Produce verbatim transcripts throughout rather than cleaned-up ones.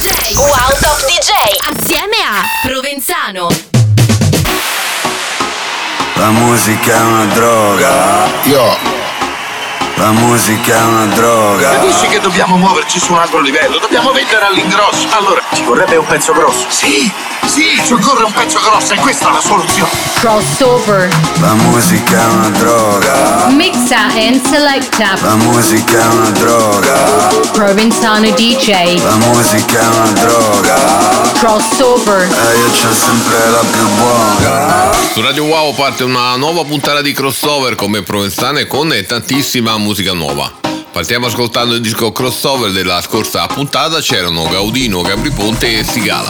J. Wow Top D J assieme a Provenzano. La musica è una droga. Io La musica è una droga. Capisci che dobbiamo muoverci su un altro livello? Dobbiamo vendere all'ingrosso. Allora, ci vorrebbe un pezzo grosso. Sì, sì, ci occorre un pezzo grosso e questa è la soluzione. Crossover. La musica è una droga. Mixa and selecta. La musica è una droga. Provenzano D J. La musica è una droga. Crossover. E io c'ho sempre la più buona. Su Radio Wow parte una nuova puntata di Crossover come Provenzano e con tantissima musica nuova. Partiamo ascoltando il disco Crossover della scorsa puntata, c'erano Gaudino, Gabri Ponte e Sigala.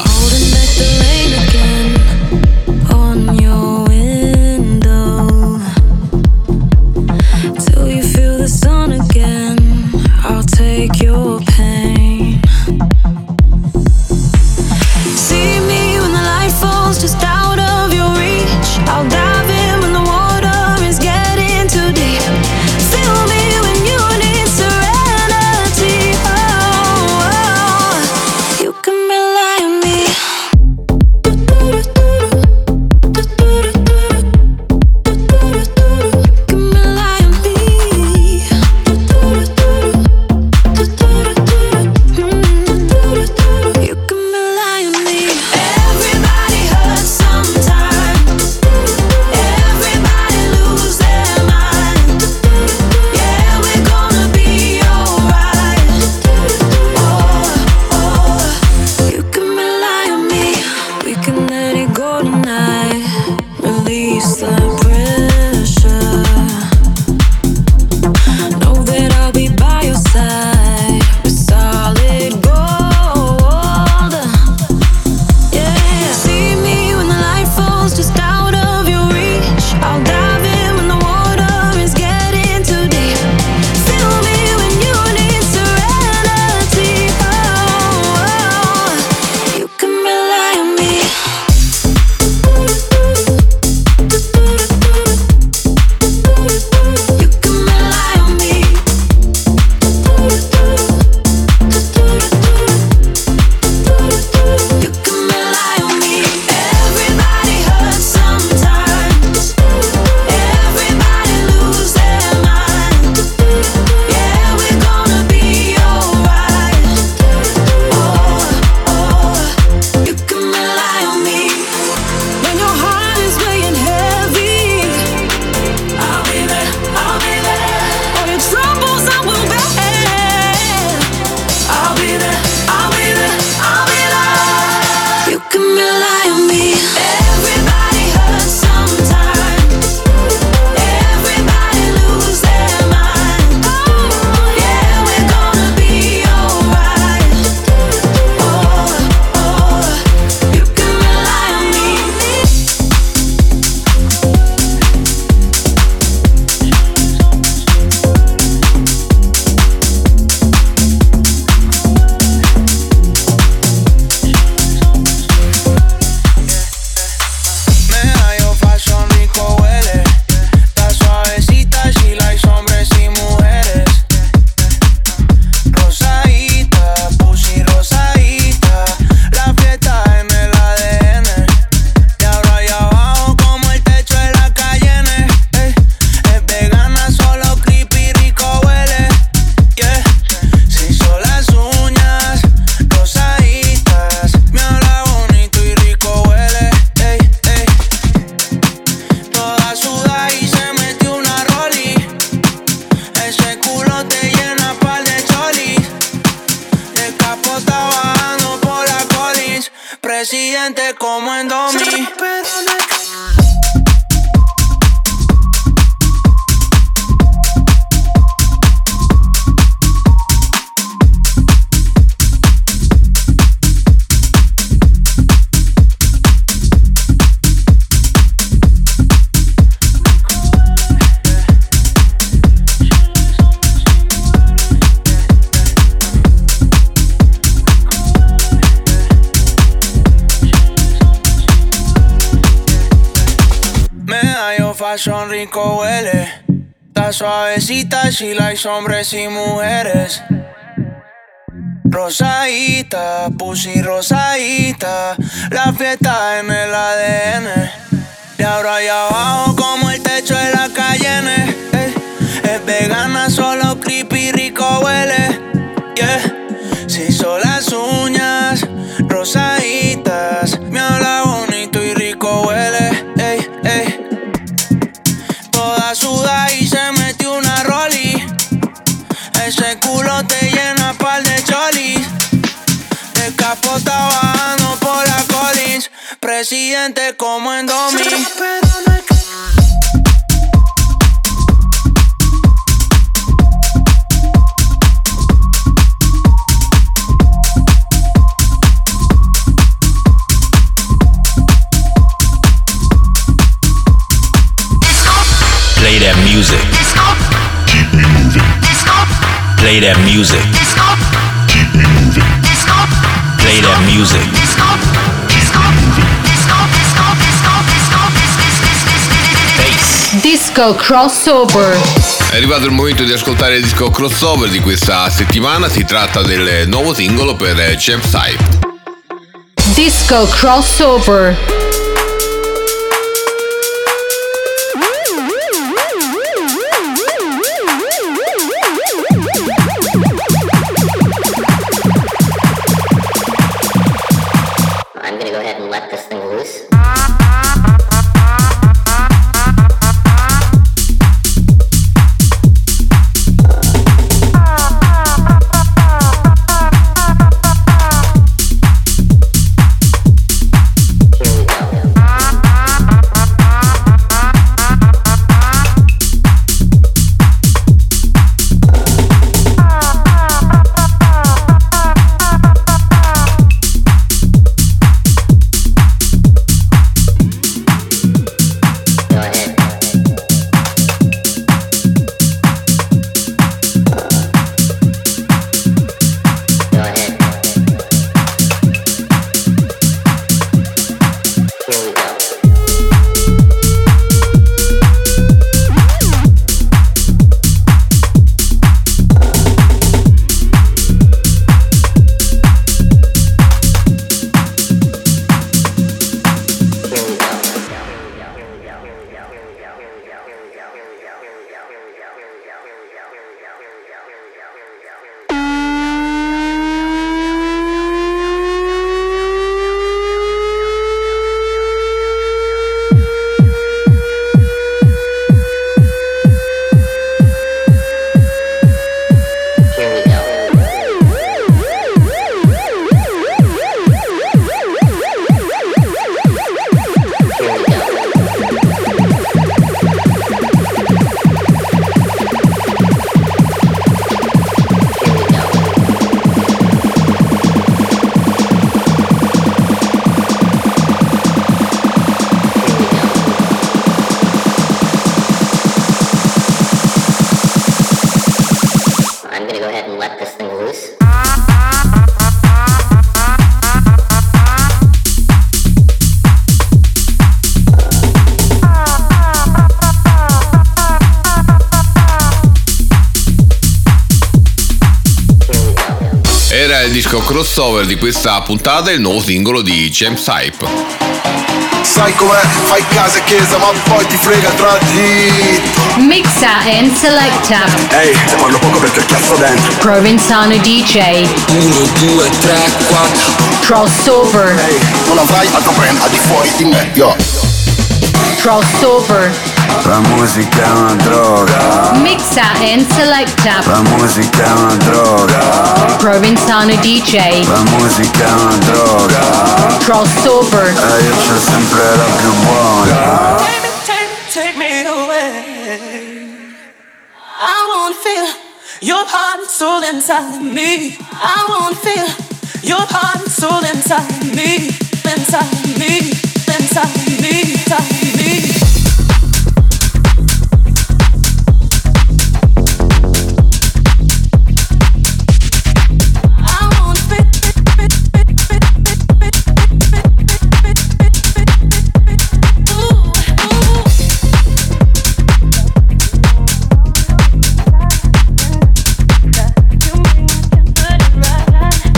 Presidente como en Domi. Fashion rico huele, está suavecita, she likes hombres y mujeres. Rosadita, pussy rosadita, la fiesta en el A D N. De ahora y abajo como el techo de la Cayenne. Eh. Es vegana, solo creepy, rico huele. Yeah. Se hizo las uñas rosaditas, me habla bonito y rico huele. Ey, ey. Toda suda y se metió una rollie. Ese culo te llena par de cholis. De capota bajando por la Collins. Presidente como en Domi. Play that music. Keep me moving. Play that music. Keep me moving. Play that music. Bass. Disco crossover. È arrivato il momento di ascoltare il disco crossover di questa settimana. Si tratta del nuovo singolo per Champ Sype. Disco crossover. I'm gonna go ahead and let this thing loose. Era il disco crossover di questa puntata, il nuovo singolo di Champ Sype. Sai com'è, fai casa e chiesa ma poi ti frega tra di. Mixa and selecta. Ehi, se parlo poco perché cazzo dentro. Provenzano D J. uno, due, tre, quattro. Crossover. Ehi, non avrai altro brand al di fuori di me, yo. Crossover. La musica è una droga. Mixa and selecta. La musica è una droga. Provenzano D J. La musica è una droga. Crossover. E io c'ho sempre la più buona. Take, take, take me away. I wanna feel your heart and soul inside me. I wanna feel your heart and soul inside me. Inside me. Inside me. Inside me. Right.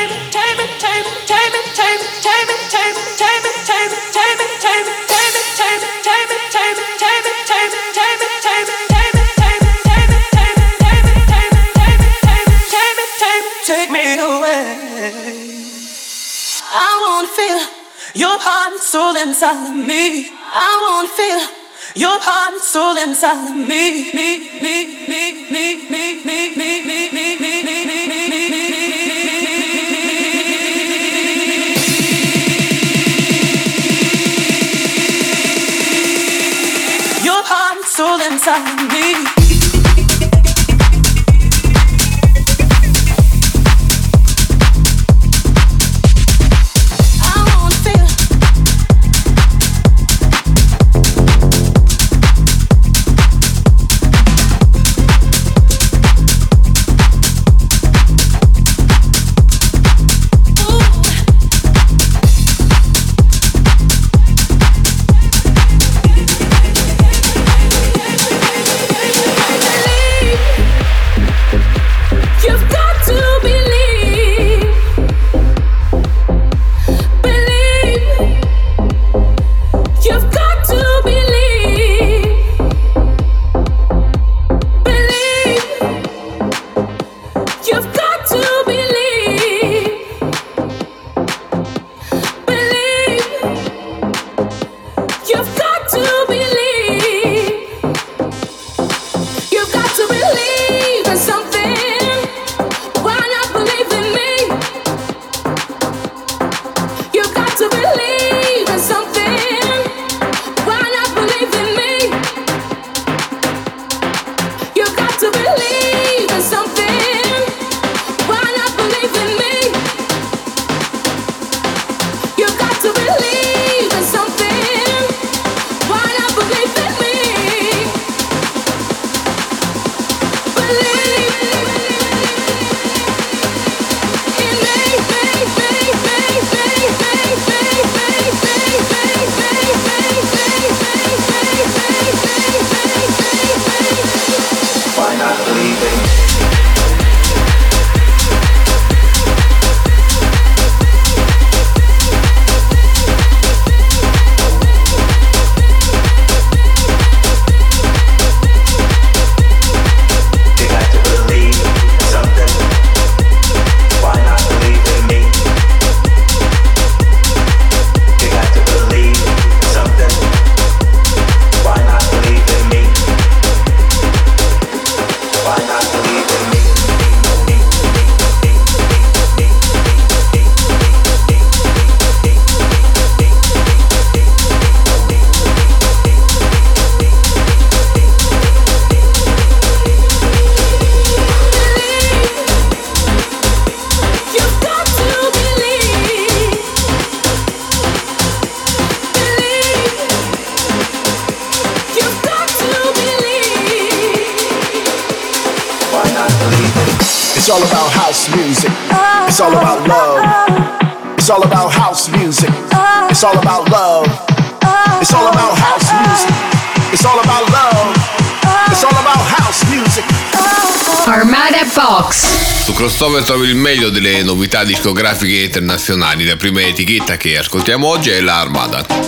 Take me away. I wanna feel your heart and soul inside of me. I wanna feel your heart and soul inside of me. Me, me, me, me, me, me, me, me, me, me, me, me, me, me. Your heart and soul inside of me. It's all about house music. It's all about love. It's all about house music. It's all about love. It's all about house music. It's all about love. It's all about house music. Armada Box. Su Crossover trovi il meglio delle novità discografiche internazionali. La prima etichetta che ascoltiamo oggi è la Armada.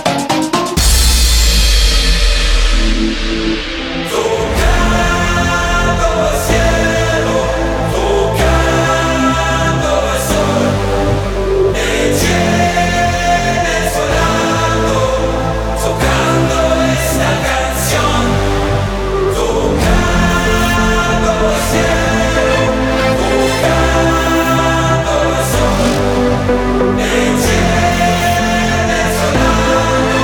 It's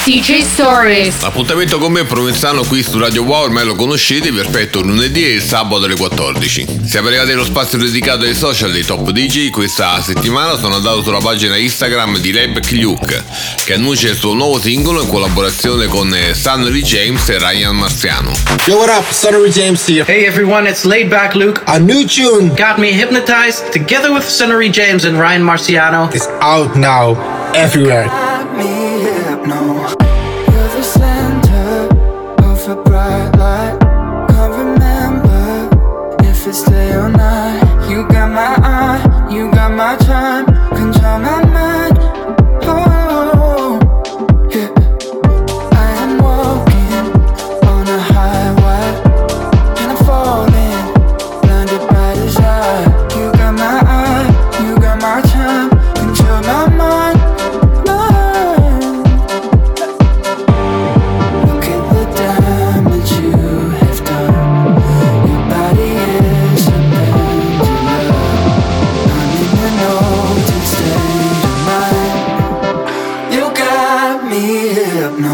D J Stories. L'appuntamento con me Provenzano qui su Radio Wow, ormai lo conoscete, vi aspetto il lunedì e il sabato alle quattordici. Siamo arrivati allo spazio dedicato ai social dei top D J. Questa settimana sono andato sulla pagina Instagram di Laidback Luke, che annuncia il suo nuovo singolo in collaborazione con Sunnery James e Ryan Marciano. Yo, what up? Sunnery James here. Hey everyone, it's Laidback Luke. A new tune, Got Me Hypnotized, together with Sunnery James and Ryan Marciano, is out now, everywhere. Got me hypno. You're the center of a bright light. Can't remember if it's day or night. You got my eye, you got my time, control my mind. Oh, yeah. I am walking on a highway, and I'm falling, blinded by desire. You got my eye, you got my time, control my mind. Look at the damage you have done. Your body is a pendulum. I'm in an altered state of mind. You got me hypno.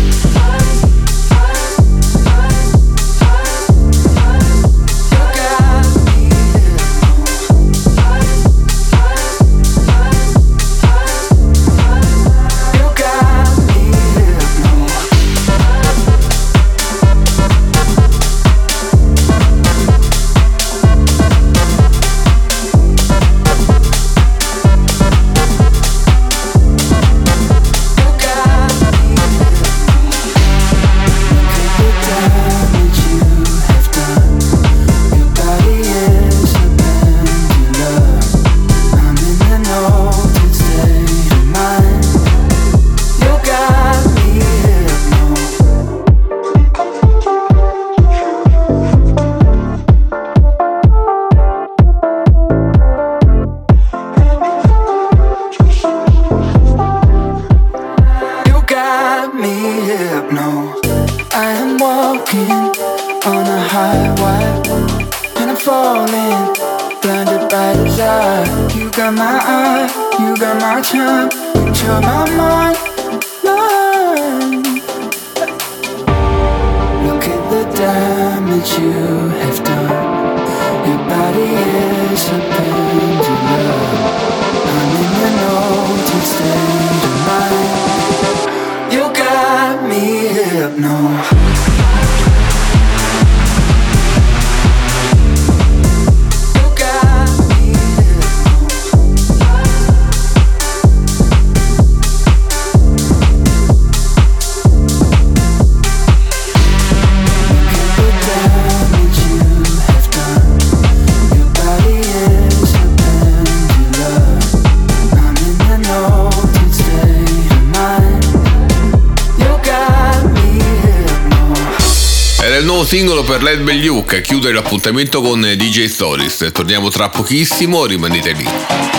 Singolo per Laidback Luke a chiudere l'appuntamento con D J Stories. Torniamo tra pochissimo, rimanete lì.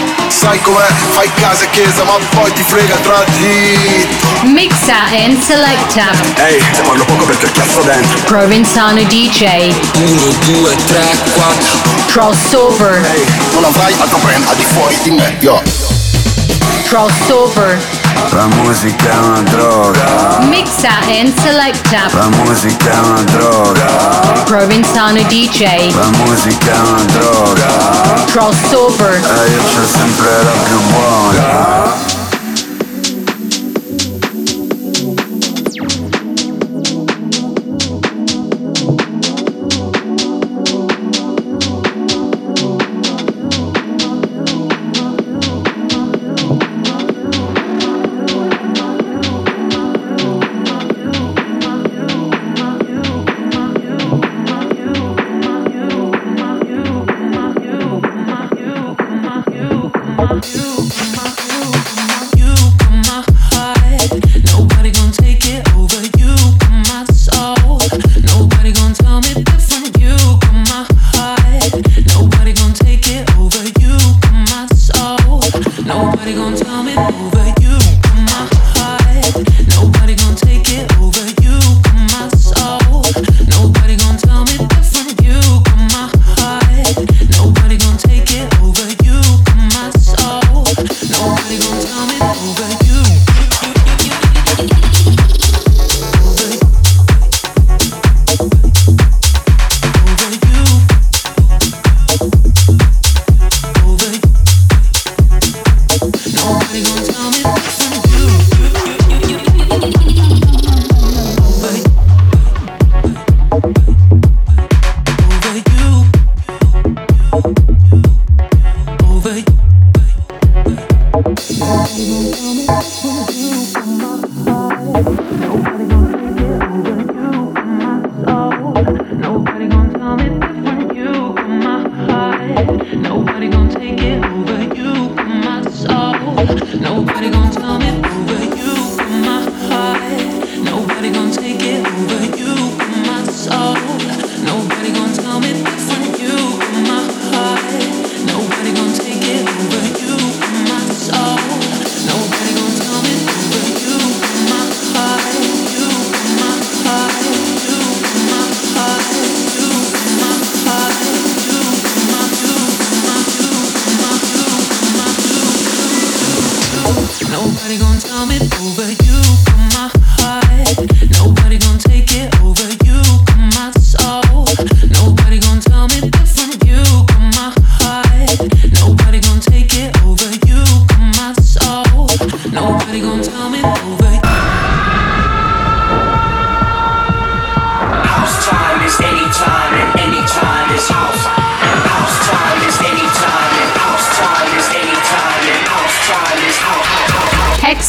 Sai com'è, fai casa e chiesa ma poi ti frega tra dritto. Mixa and selecta. Ehi, hey, parlo poco perché ho chiasso dentro. Provenzano D J. uno, due, tre, quattro. Crossover. Ehi, hey, non avrai altro brand al di fuori di me, yo. Crossover. La musica è una droga. Mixa and selecta. La musica è una droga. Provenzano D J. La musica è una droga. Crossover. E io c'ho sempre la più buona.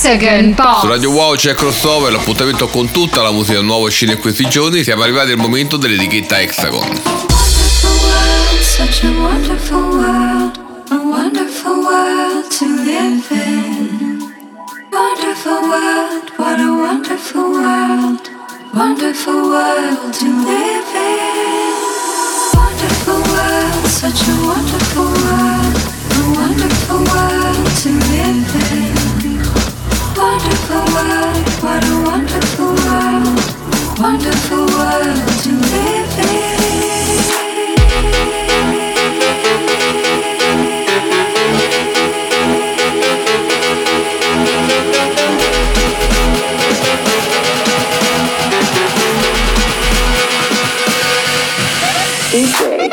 Hexagon Box. Su Radio Wow c'è Crossover, l'appuntamento con tutta la musica nuova uscita in questi giorni. Siamo arrivati al momento dell'etichetta Hexagon. Such a wonderful world, a wonderful world to live in. Wonderful world, what a wonderful world, wonderful world to live in. Wonderful world, such a wonderful world, a wonderful world to live in. Wonderful world, what a wonderful world, wonderful world to live in. D J.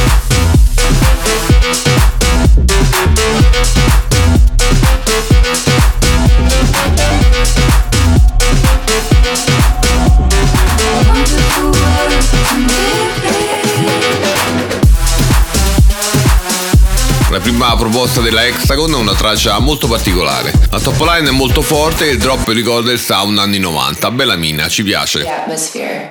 La prima proposta della Hexagon è una traccia molto particolare. La top line è molto forte e il drop ricorda il sound anni novanta. Bella mina, ci piace. The atmosphere.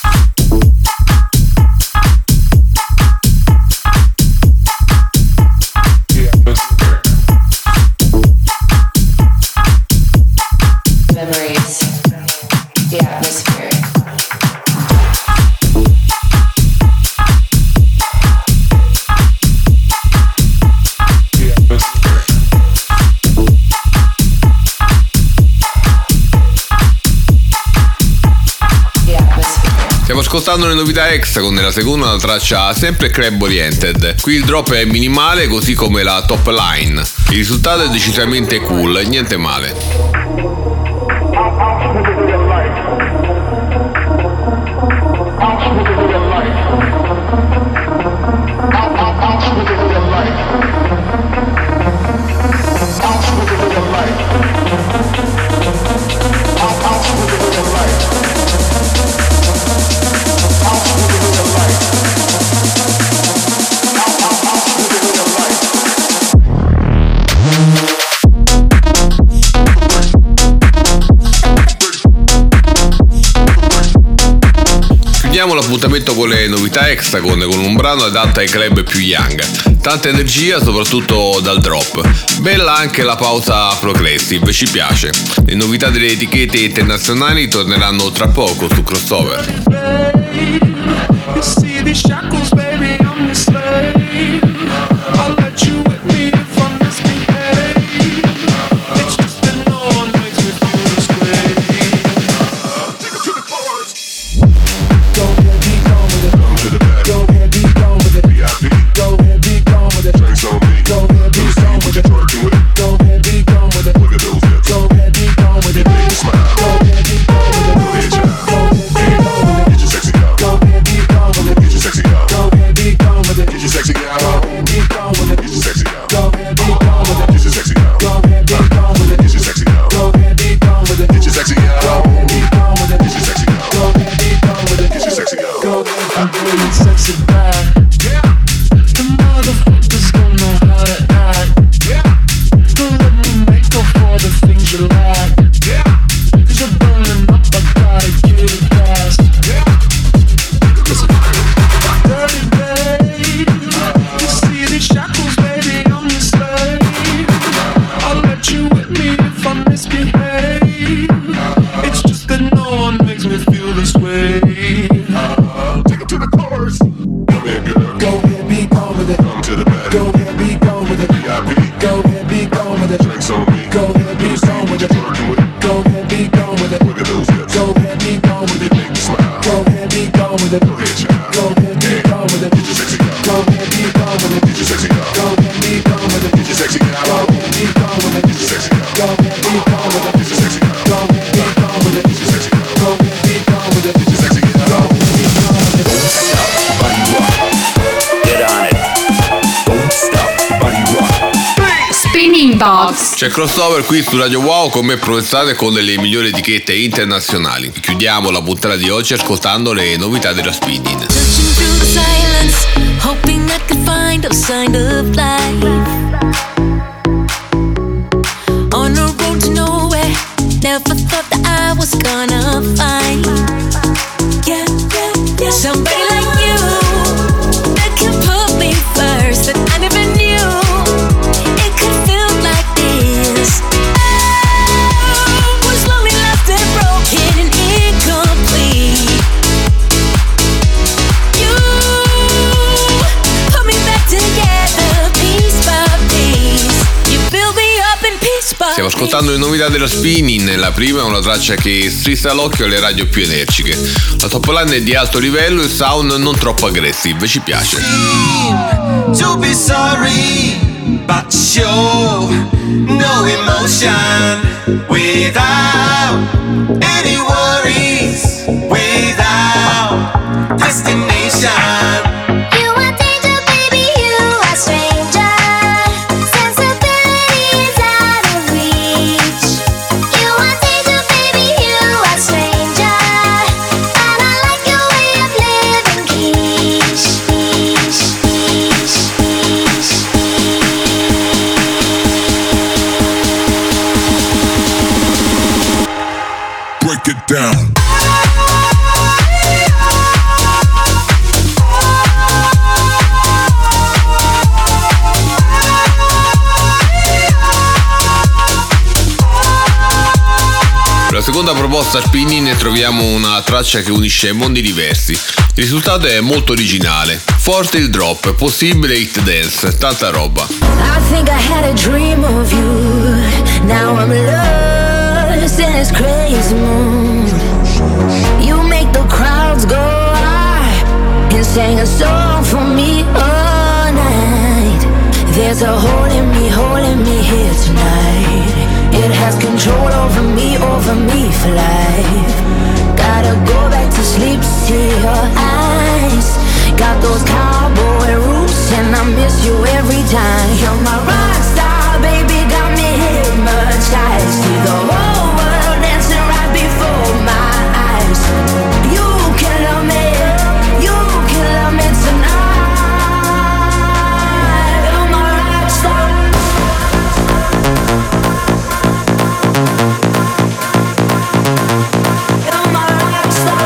Memories. The atmosphere. Stiamo ascoltando le novità Hexagon nella seconda, la traccia sempre club oriented. Qui il drop è minimale, così come la top line. Il risultato è decisamente cool, niente male. Chiudiamo l'appuntamento con le novità Hexagon con un brano adatto ai club più young. Tanta energia soprattutto dal drop. Bella anche la pausa progressive, ci piace. Le novità delle etichette internazionali torneranno tra poco su Crossover. C'è Crossover qui su Radio Wow con me Provenzano con le migliori etichette internazionali. Chiudiamo la puntata di oggi ascoltando le novità della Spinning. On a road to nowhere, Never thought that I was gonna find, yeah, yeah, yeah, somebody like you that can put me first. That I never knew it could feel like this. I was lonely, left and broken and incomplete. You put me back together piece by piece. You build me up in piece by piece. Stiamo ascoltando le novità della Spinning. La prima è una traccia che strizza l'occhio alle radio più energiche. La top line è di alto livello e il sound non troppo aggressive, ci piace. To be sorry, but show no emotion without any worries, without destination. You are danger, baby, you are stranger. Sensibility is out of reach. You are danger, baby, you are stranger. And I like your way of living, quiche, quiche, quiche, quiche. Break it down. Per la seconda proposta Spinning ne troviamo una traccia che unisce mondi diversi. Il risultato è molto originale. Forte il drop, possibile hit dance, tanta roba. I think I had a dream of you. Now I'm lost in this crazy mood. You make the crowds go high and sing a song for me all night. There's a hole in me, hole in me here tonight. It has control over me, over me for life. Gotta go back to sleep, see your eyes. Got those cowboy roots and I miss you every time. You're my rock star, baby, got me hypnotized. See the whole world dancing right before my eyes. You can love me, you can love me tonight. You're my rock star. You're my rock star.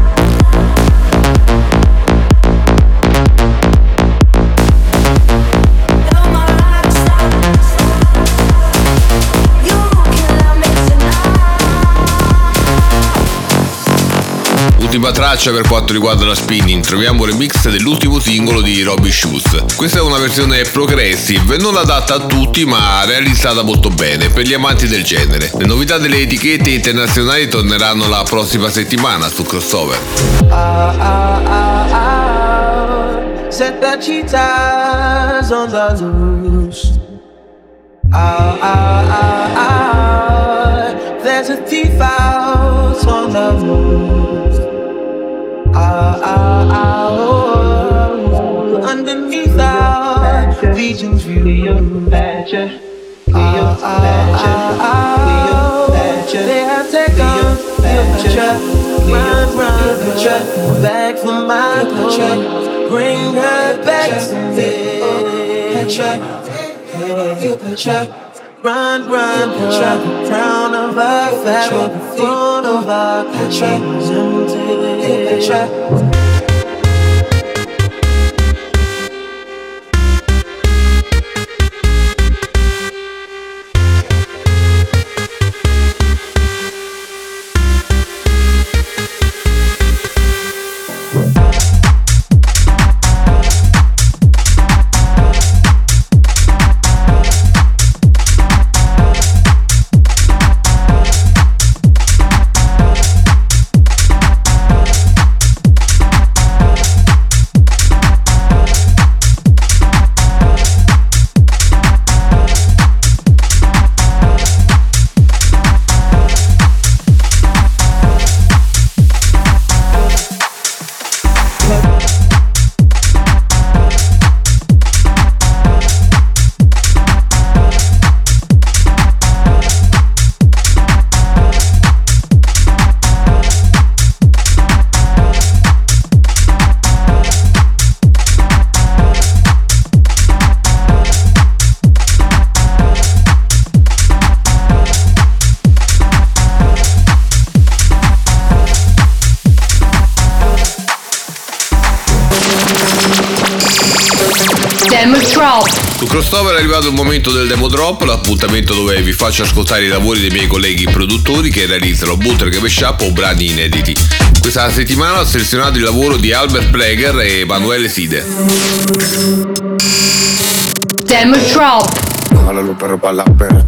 Ultima traccia per quanto riguarda la Spinning, troviamo il remix dell'ultimo singolo di Robbie Shoes. Questa è una versione progressive, non adatta a tutti ma realizzata molto bene per gli amanti del genere. Le novità delle etichette internazionali torneranno la prossima settimana su Crossover. Ah, ah, ah, ah. Set the cheetahs on the loose. Ah, ah, ah, ah. There's a thief out on the loose. Ah, ah, ah, oh. Underneath our Legion's view. Ah, ah, ah, ah. They have taken your picture. Run, run, picture. Back from my picture. Bring her back to me. Picture. Picture. Run, run, picture. Crown of her fabric. Throne of her picture. Empty picture. drop. Su Crossover è arrivato il momento del demo drop, l'appuntamento dove vi faccio ascoltare i lavori dei miei colleghi produttori che realizzano bootleg, mashup o brani inediti. Questa settimana ho selezionato il lavoro di Albert Prager e Emanuele Side. Demo drop. Bájale los perros pa' la perra.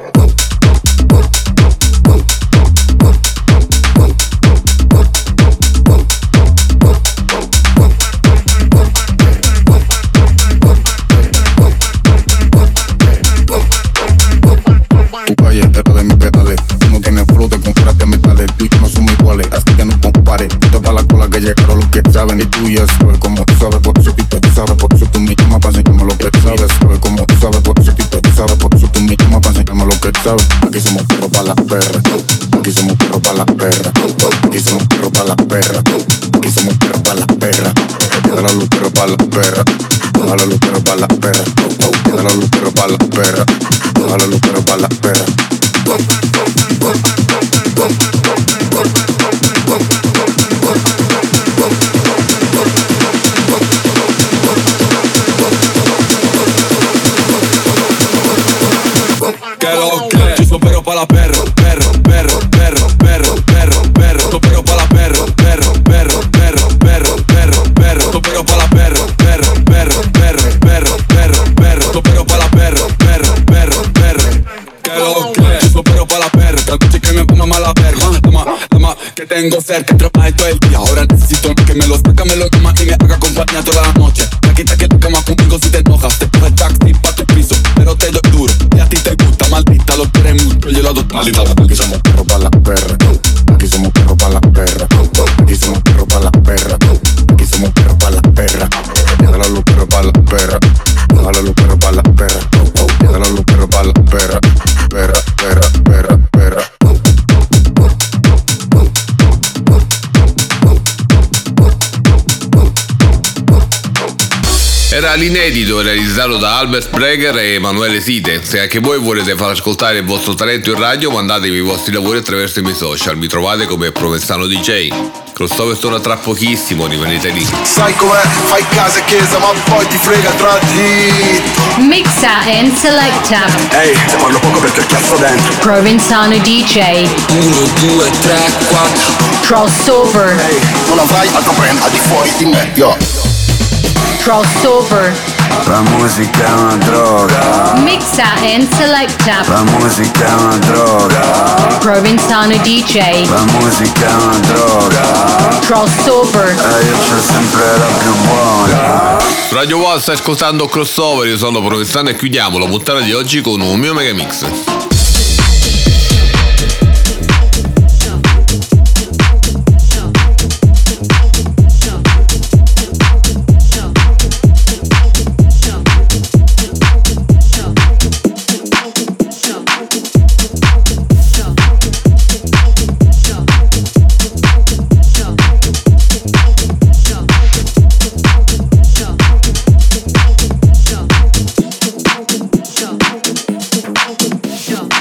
Tu calle entera de mis pedales. No tiene fruta, compraste metales. Tú y yo no somos iguales, así que no compares. Esto pa' la cola que llegaron los que saben. Y tú ya sabes como tú sabes, por eso tú te sabes. Por eso tú me llamas pa' enseñarme lo que sabes. Sabes como tú sabes, por eso tú te sabes. Por eso tú me llamas pa' enseñarme lo que sabes. Aquí somos perros pa' la perra. Aquí somos perros pa' la perra. Aquí somos perros pa' la perra. Aquí somos perros pa' la perra. Dale a los perros pa' la perra. Dale a los perros pa' la perra. Dale a los perros pa' la perra. Dale a los perros pa' la perra. Que lo que yo soy perro pa' la perro, perro, perro, perro, perro, perro, perro, soy perro pa' la perro, perro, perro, perro, perro, perro, perro, soy perro pa' la perro, perro, perro, perro, perro, perro, perro, soy perro pa' la perro, perro, perro, perro. Que lo que yo soy perro pa' la perro, que noche que me ponga mala verga, toma, toma, que tengo cerca, trabajo todo el día, ahora necesito que me lo saca, me lo llama y me haga compañía toda la noche. Me quita que tu cama conmigo si te enojas, te coge el taxi pa' tu piso, pero te doy duro y a ti te gusta, maldita, lo quieres mucho, yo lo doy maldita. Aquí somos perros pa' la perra. Aquí somos perros pa' la perra. Aquí somos perros pa' la perra. Aquí somos perros pa' la perra. Dale a los perros pa' la perra. Dale a los perros pa' la perra. Dale a los perros pa' la perra. Perra, perra, perra, perra. Era l'inedito realizzato da Albert Prager e Emanuele Side. Se anche voi volete far ascoltare il vostro talento in radio, mandatemi i vostri lavori attraverso i miei social. Mi trovate come Provenzano D J. Crossover torna tra pochissimo, rimanete lì. Sai com'è, fai casa e chiesa ma poi ti frega tra di. Mixa and selecta. Ehi, te parlo poco perché il cazzo dentro. Provenzano D J. uno, due, tre, quattro. Crossover. Ehi, non avrai altro brand al di fuori di me, yo. Crossover. La musica è una droga. Mixa and selecta. La musica è una droga. Provenzano D J. La musica è una droga. Crossover. E io c'ho sempre la più buona. Su Radio Wall stai ascoltando Crossover, io sono Provenzano e chiudiamo la puntata di oggi con un mio mega mix. Jump.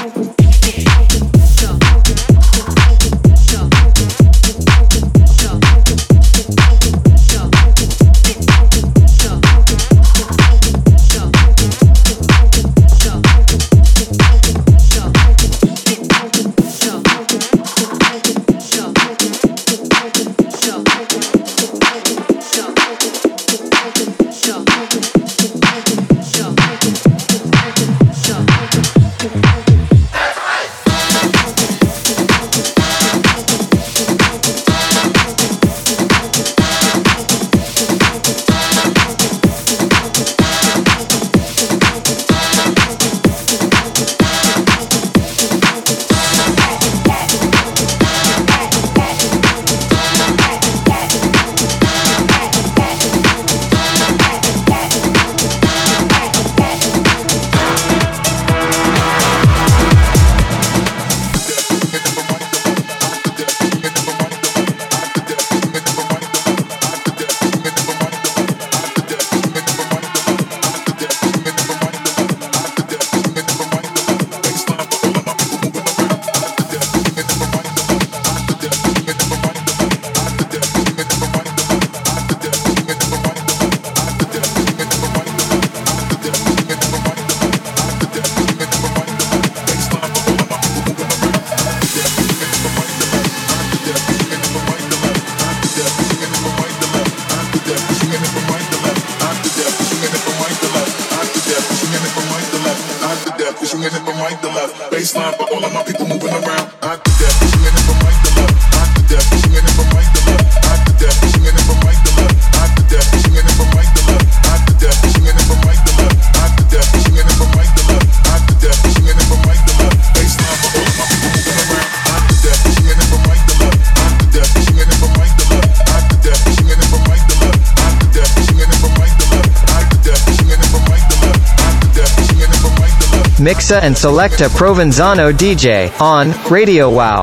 baseline for all of my people moving around. I did that, swinging it from right to left. I did that, swinging it from right to left. I did that, swinging it from right to left. I did that, swinging it from right to left. I did that, swinging it from right to left. I did that, swinging it from right to left. I did that, swinging it from right to left. Baseline for all of my people moving around. I did that, swinging it from right to left. I did that, swinging it from right to left. I did that, swinging it from right to left. I did that, swinging it from right to left. I did that, swinging it from right to left. I did that, swinging it from right to left. Mixa and Selecta Provenzano D J on Radio Wow.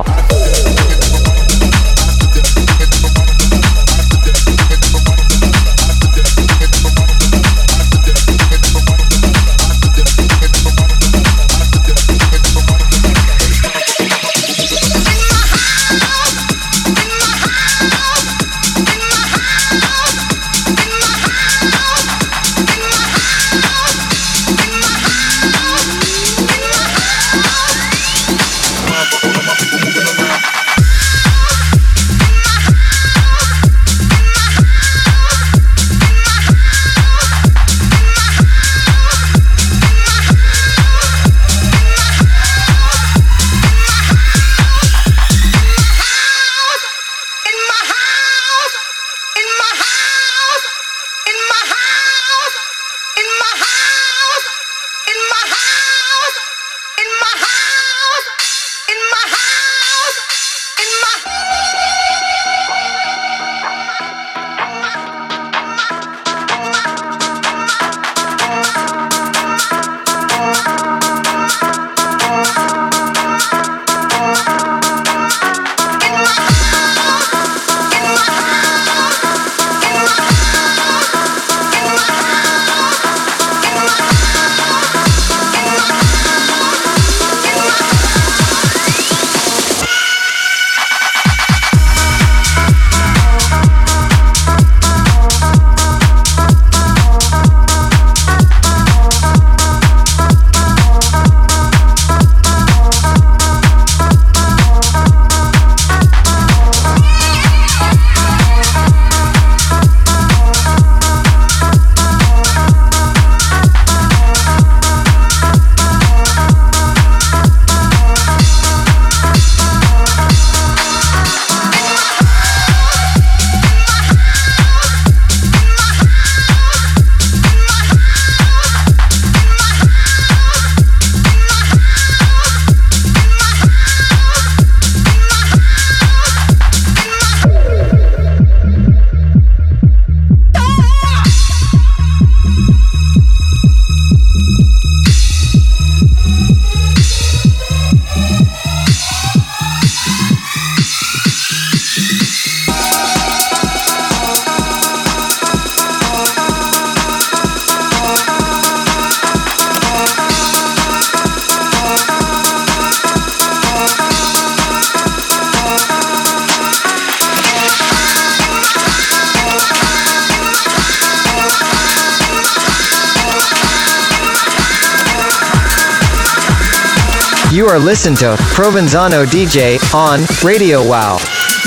You are listening to Provenzano D J on Radio Wow.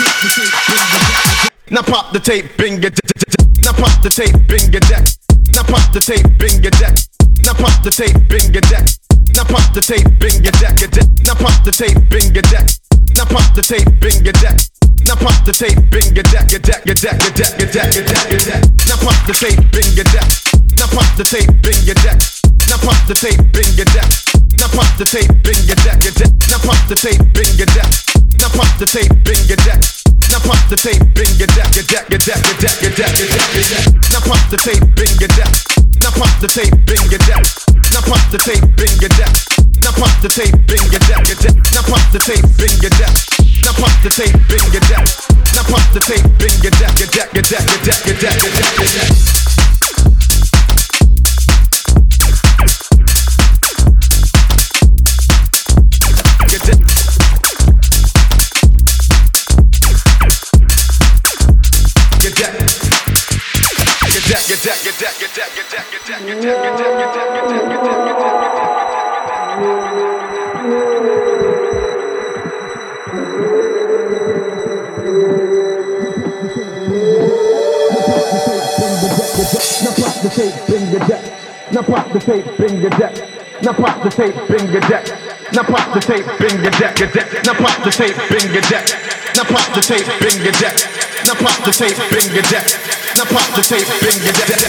Now pop the tape, bing your deck. Now pop the tape, bing your deck. Now pop the tape, bing your deck. Now pop the tape, bing your deck. Now pop the tape, bing your deck. Now pop the tape, bing your deck. Now pop the tape, bing your deck. Now pop the tape, bing your deck. Your deck, your deck, your deck, your deck, your deck, your deck. Now pop the tape, bing your deck. Now pop the tape, bing your deck. Now pop the tape, bing your deck. Now pop the tape, bing your deck, your deck. Now pop the tape, bing your deck. Now pop the tape, bing your deck. Now pop the tape, bing your deck, your deck, your deck, your deck, your deck, your deck, your deck. Now pop the tape, bing your deck. Now pop the tape, bing your deck. Now pop the tape, bing your deck. Now pop the tape, bing your deck, your deck. Now pop the tape, bing your deck. Now pop the tape, bing your deck. Now pop the tape, bing your deck, your deck, your deck, your deck, your deck, your deck, your deck. Now pop the tape, bring your deck. Now pop the tape, bring your deck. Now pop the tape, bring your deck. Now pop the tape, bring your deck, your deck. Now pop the tape, bring your deck. Now pop the tape, bring your deck. Now pop the tape, bring your deck. Now pop the tape, bring your deck.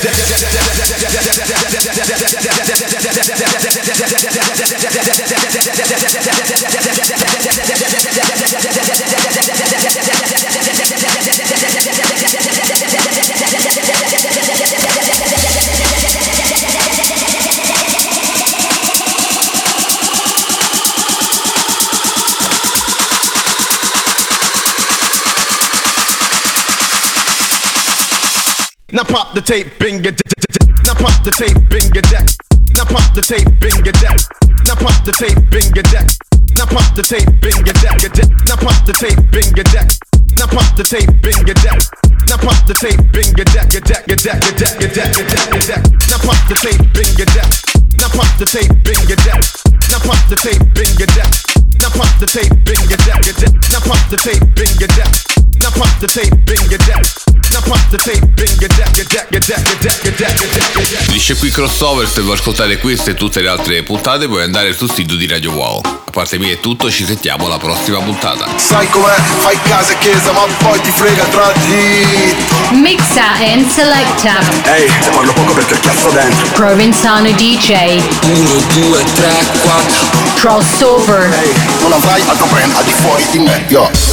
Now pop the tape, bring your deck. Now pop the tape, bring your deck. Now pop the tape, bring your deck. Now pop the tape, bring your deck. Now pop the tape, bring your deck. Now pop the tape, bring your deck. Now pop the tape, bring your deck. Now pop the tape, bring your deck. Your deck, your deck, your deck, your deck, your deck, your deck. Now pop the tape, bring your deck. Now pop the tape, bring your deck. Now pop the tape, bring your deck. Now pop the tape, bring your deck. Now pop the tape, bring your deck. Now pop the tape, bring your deck. Now pop the tape, bring your deck, your deck, your deck, your deck, your deck, your deck, your deck. Finisce qui Crossover. Se vuoi ascoltare queste e tutte le altre puntate puoi andare sul sito di Radio Wow. A parte mia è tutto, ci sentiamo alla prossima puntata. Sai com'è? Fai casa e chiesa ma poi ti frega tra di. Mixa and selecta. Ehi, se parlo poco perché cazzo dentro. Provenzano D J. uno, due, tre, quattro. Crossover. Ehi, non avrai altro brand al di fuori di me, yo.